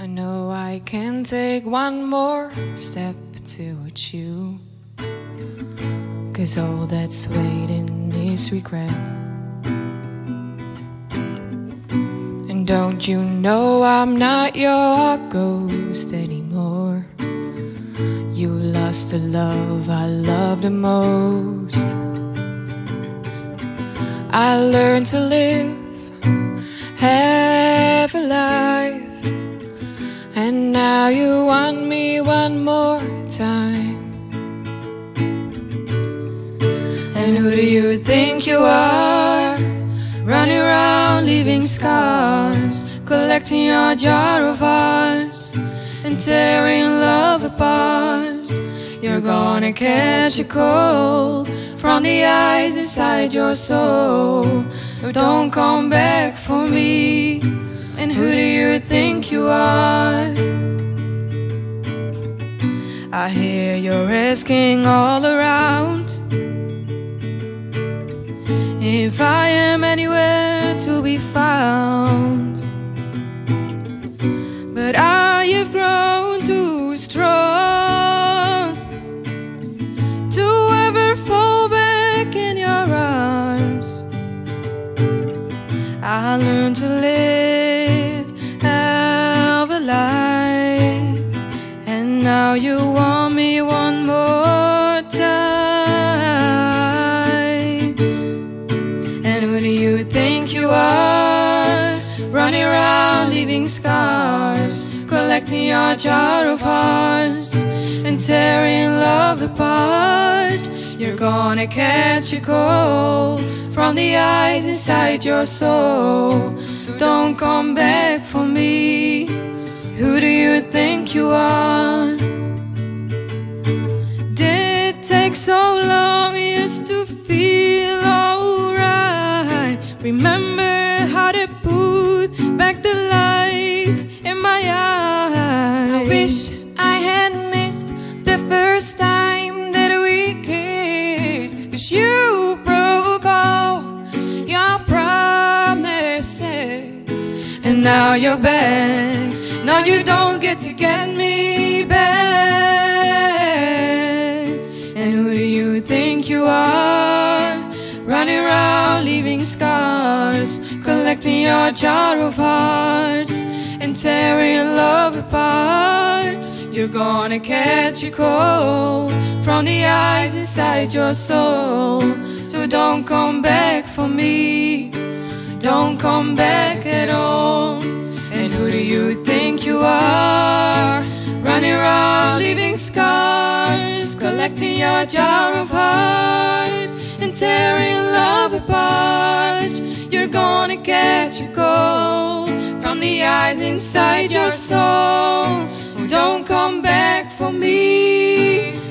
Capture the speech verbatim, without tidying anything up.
I know I can take one more step towards you, 'cause all that's waiting is regret. And don't you know I'm not your ghost anymore? You lost the love I love the most. I learned to live, have a life, and now you want me one more time. And who do you think you are? Running around leaving scars, collecting your jar of hearts and tearing love apart. You're gonna catch a cold from the ice inside your soul. Don't come back for me. And who do you think you are? I hear you're asking all around if I am anywhere to be found. But I have grown too strong to ever fall back in your arms. I learned to live, have a life, and now you want me one more time. And who do you think you are? Running around leaving scars, collecting your jar of hearts and tearing love apart. You're gonna catch a cold from the ice inside your soul. So don't come back for me. Who do you think you are? Did it take so long just to feel alright? Remember how to put back the lights in my eyes. I wish I had missed the first time that we kissed, 'cause you broke all your promises, and now you're back. Now you don't get to get me back. And who do you think you are? Running around leaving scars, collecting your jar of hearts and tearing love apart. You're gonna catch a cold from the ice inside your soul. So don't come back for me. Don't come back at all. And who do you think you are? Running around leaving scars, collecting your jar of hearts and tearing love apart. You're gonna catch a cold from the ice inside your soul. Don't come back for me.